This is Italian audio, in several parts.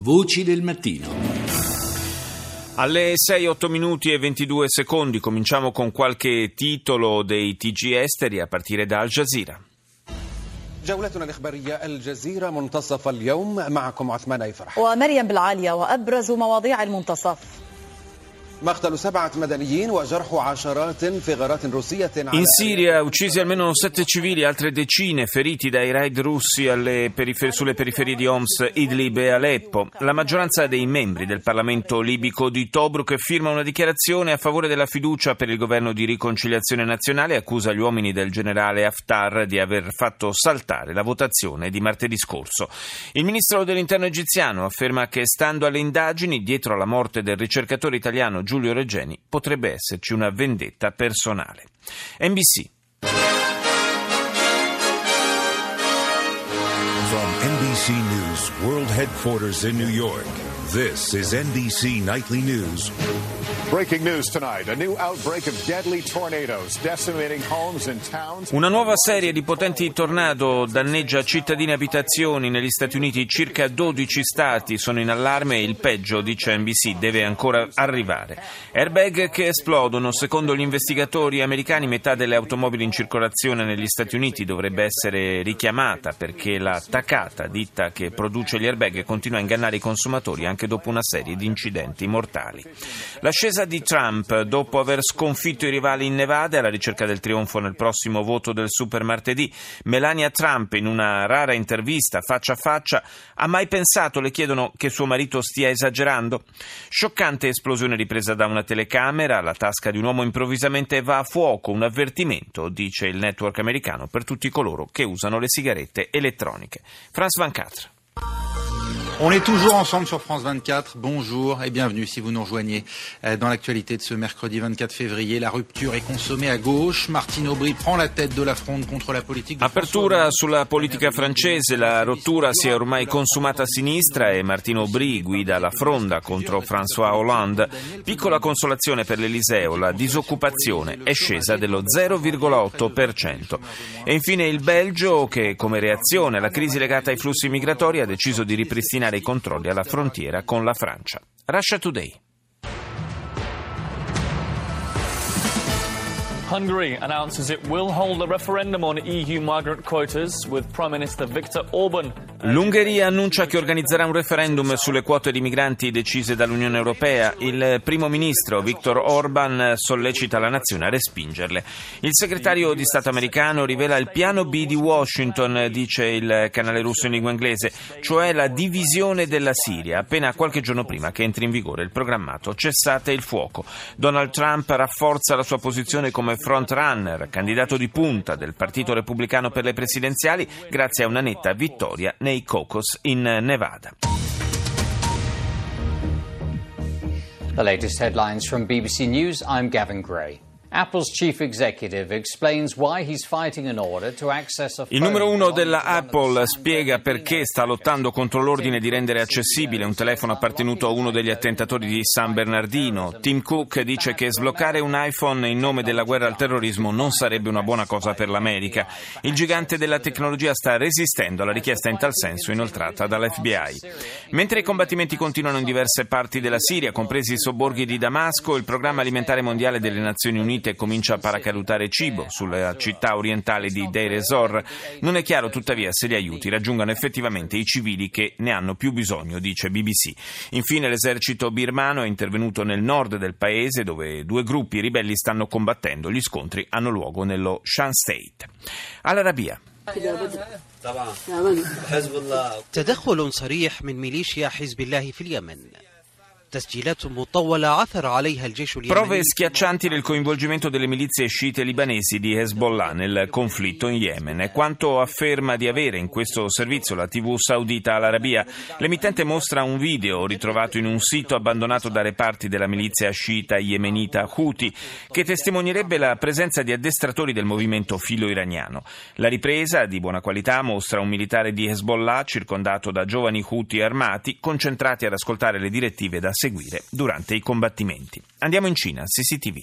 Voci del mattino. Alle 6:08 minuti e 22 secondi cominciamo con qualche titolo dei TG esteri a partire da Al Jazeera. جولتنا الإخبارية الجزيرة منتصف اليوم معكم عثمان أيفرح ومريم بالعالية وأبرز مواضيع المنتصف. مقتل 7 مدنيين وجرح عشرات في غارات روسية. In Siria uccisi almeno 7 civili, altre decine feriti dai raid russi sulle periferie di Homs, Idlib e Aleppo. La maggioranza dei membri del Parlamento libico di Tobruk firma una dichiarazione a favore della fiducia per il governo di riconciliazione nazionale e accusa gli uomini del generale Haftar di aver fatto saltare la votazione di martedì scorso. Il ministro dell'interno egiziano afferma che, stando alle indagini, dietro alla morte del ricercatore italiano Giulio Regeni potrebbe esserci una vendetta personale. NBC. From NBC News World Headquarters in New York, this is NBC Nightly News. Breaking news tonight, a new outbreak of deadly tornadoes decimating homes and towns. Una nuova serie di potenti tornado danneggia cittadini e abitazioni negli Stati Uniti. Circa 12 stati sono in allarme e il peggio, dice NBC, deve ancora arrivare. Airbag che esplodono. Secondo gli investigatori americani, metà delle automobili in circolazione negli Stati Uniti dovrebbe essere richiamata perché la Takata, ditta che produce gli airbag, continua a ingannare i consumatori anche dopo una serie di incidenti mortali. L'ascesa di Trump dopo aver sconfitto i rivali in Nevada alla ricerca del trionfo nel prossimo voto del super martedì. Melania Trump, in una rara intervista faccia a faccia, ha mai pensato, le chiedono, che suo marito stia esagerando? Scioccante esplosione ripresa da una telecamera, la tasca di un uomo improvvisamente va a fuoco, un avvertimento, dice il network americano, per tutti coloro che usano le sigarette elettroniche. France 24. On est toujours ensemble sur France 24. Bonjour et bienvenue si vous nous rejoignez dans l'actualité de ce mercredi 24 février. La rupture est consommée à gauche. Martine Aubry prend la tête de la fronde contre la politique. Apertura sulla politica francese. La rottura si è ormai consumata a sinistra e Martine Aubry guida la fronda contro François Hollande. Piccola consolazione per l'Eliseo, la disoccupazione è scesa dello 0,8%. E infine il Belgio che, come reazione alla crisi legata ai flussi migratori, ha deciso di ripristinare i controlli alla frontiera con la Francia. Russia Today. Hungary announces it will hold a referendum on EU migrant quotas with Prime Minister Viktor Orban. L'Ungheria annuncia che organizzerà un referendum sulle quote di migranti decise dall'Unione Europea. Il primo ministro Viktor Orban sollecita la nazione a respingerle. Il segretario di Stato americano rivela il piano B di Washington, dice il canale russo in lingua inglese, cioè la divisione della Siria, appena qualche giorno prima che entri in vigore il programmato cessate il fuoco. Donald Trump rafforza la sua posizione come frontrunner, candidato di punta del Partito Repubblicano per le presidenziali, grazie a una netta vittoria nei caucus in Nevada. The latest headlines from BBC News. I'm Gavin Gray. Apple's chief executive explains why he's fighting an order to access a phone. Il numero uno della Apple spiega perché sta lottando contro l'ordine di rendere accessibile un telefono appartenuto a uno degli attentatori di San Bernardino. Tim Cook dice che sbloccare un iPhone in nome della guerra al terrorismo non sarebbe una buona cosa per l'America. Il gigante della tecnologia sta resistendo alla richiesta in tal senso inoltrata dall'FBI. Mentre i combattimenti continuano in diverse parti della Siria, compresi i sobborghi di Damasco, il Programma Alimentare Mondiale delle Nazioni Unite comincia a paracadutare cibo sulla città orientale di Deir ez-Zor. Non è chiaro tuttavia se gli aiuti raggiungano effettivamente i civili che ne hanno più bisogno, dice BBC. Infine l'esercito birmano è intervenuto nel nord del paese dove due gruppi ribelli stanno combattendo. Gli scontri hanno luogo nello Shan State. All'Arabia. تدخل صريح من ميليشيا حزب الله في اليمن. Prove schiaccianti del coinvolgimento delle milizie sciite libanesi di Hezbollah nel conflitto in Yemen. È quanto afferma di avere in questo servizio la TV saudita Al Arabiya. L'emittente mostra un video ritrovato in un sito abbandonato da reparti della milizia sciita yemenita Houthi che testimonierebbe la presenza di addestratori del movimento filo-iraniano. La ripresa, di buona qualità, mostra un militare di Hezbollah circondato da giovani Houthi armati concentrati ad ascoltare le direttive da seguire durante i combattimenti. Andiamo in Cina, CCTV.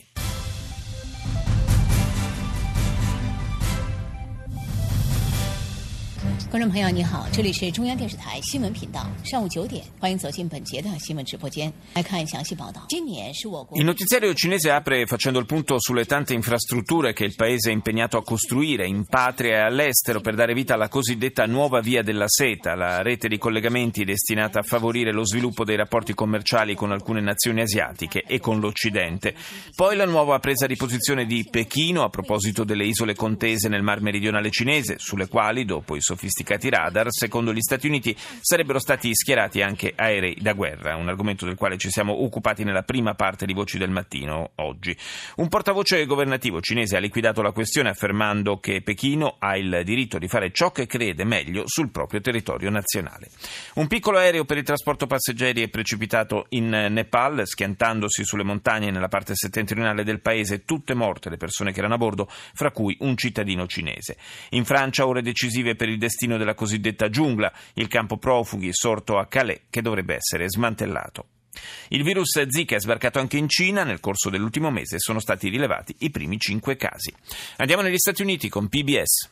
观众朋友，你好，这里是中央电视台新闻频道，上午9点，欢迎走进本节的新闻直播间，来看详细报道。今年是我国 Il notiziario cinese apre facendo il punto sulle tante infrastrutture che il paese è impegnato a costruire in patria e all'estero per dare vita alla cosiddetta nuova via della seta, la rete di collegamenti destinata a favorire lo sviluppo dei rapporti commerciali con alcune nazioni asiatiche e con l'Occidente. Poi la nuova presa di posizione di Pechino a proposito delle isole contese nel mar meridionale cinese, sulle quali, dopo i sofisticati radar, secondo gli Stati Uniti sarebbero stati schierati anche aerei da guerra, un argomento del quale ci siamo occupati nella prima parte di Voci del Mattino oggi. Un portavoce governativo cinese ha liquidato la questione affermando che Pechino ha il diritto di fare ciò che crede meglio sul proprio territorio nazionale. Un piccolo aereo per il trasporto passeggeri è precipitato in Nepal, schiantandosi sulle montagne nella parte settentrionale del paese, tutte morte le persone che erano a bordo, fra cui un cittadino cinese. In Francia ore decisive per il destino della cosiddetta giungla, il campo profughi sorto a Calais che dovrebbe essere smantellato. Il virus Zika è sbarcato anche in Cina, nel corso dell'ultimo mese sono stati rilevati i primi 5 casi. Andiamo negli Stati Uniti con PBS.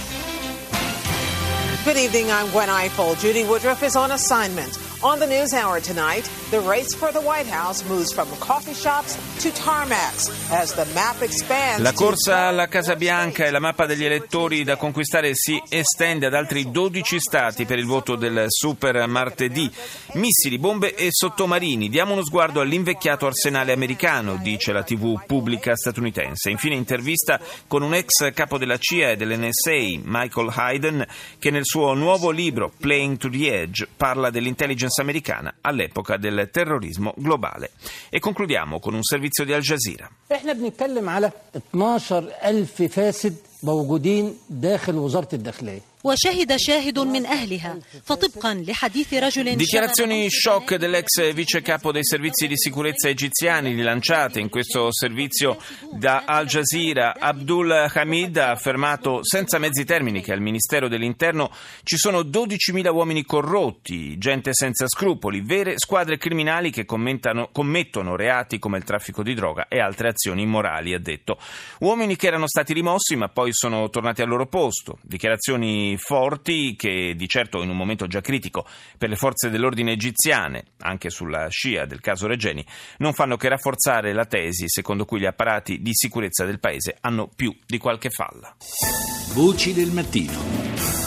Good evening, I'm Gwen Ifill. Judy Woodruff is on assignment. On the News Hour tonight, the race for the White House moves from coffee shops to tarmacs as the map expands. La corsa alla Casa Bianca e la mappa degli elettori da conquistare si estende ad altri 12 stati per il voto del super martedì. Missili, bombe e sottomarini. Diamo uno sguardo all'invecchiato arsenale americano, dice la TV pubblica statunitense. Infine intervista con un ex capo della CIA e dell'NSA, Michael Hayden, che nel suo nuovo libro Playing to the Edge parla dell'intelligence americana all'epoca del terrorismo globale. E concludiamo con un servizio di Al Jazeera. احنا بنتكلم على 12,000 فاسد موجودين داخل وزارة الداخلية. وشهد شاهد من أهلها فطبقا لحديث رجل. Dichiarazioni shock dell'ex vice capo dei servizi di sicurezza egiziani rilanciate in questo servizio da Al Jazeera. Abdul Hamid ha affermato senza mezzi termini che al Ministero dell'Interno ci sono 12.000 uomini corrotti, gente senza scrupoli, vere squadre criminali che commettono reati come il traffico di droga e altre azioni immorali, ha detto. Uomini che erano stati rimossi ma poi sono tornati al loro posto. Dichiarazioni forti che di certo in un momento già critico per le forze dell'ordine egiziane, anche sulla scia del caso Regeni, non fanno che rafforzare la tesi secondo cui gli apparati di sicurezza del paese hanno più di qualche falla. Voci del mattino.